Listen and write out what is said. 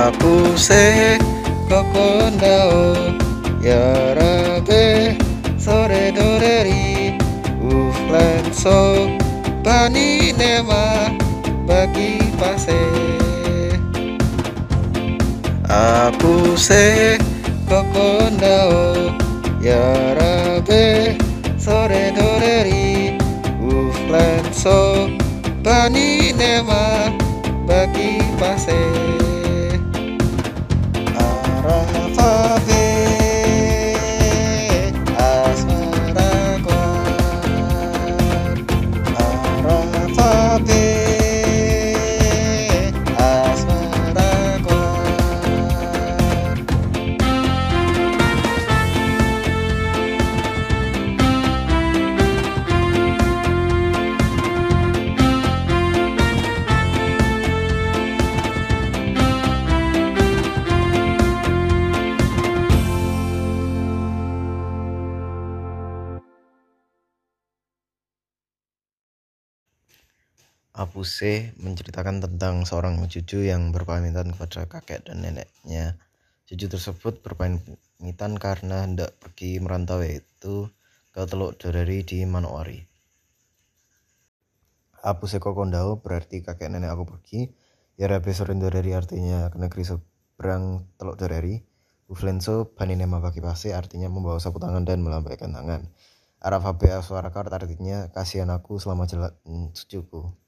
Apuse kokondao yarabe sore doreri uflenso bani nema bagi pase. Apuse kokondao yarabe sore doreri uflenso bani nema bagi pase. Arafabe asmara kuat, Arafabe asmara kuat. Apuse menceritakan tentang seorang cucu yang berpamitan kepada kakek dan neneknya. Cucu tersebut berpamitan karena hendak pergi merantau, yaitu ke Teluk Doreri di Manokwari. Apuse kokondao berarti kakek nenek aku pergi. Yarabe soren Doreri artinya ke negeri seberang Teluk Doreri. Uflenso baninema bagi pase artinya membawa sapu tangan dan melambaikan tangan. Arafabe aswarakart artinya kasihan aku selama jalan cucuku.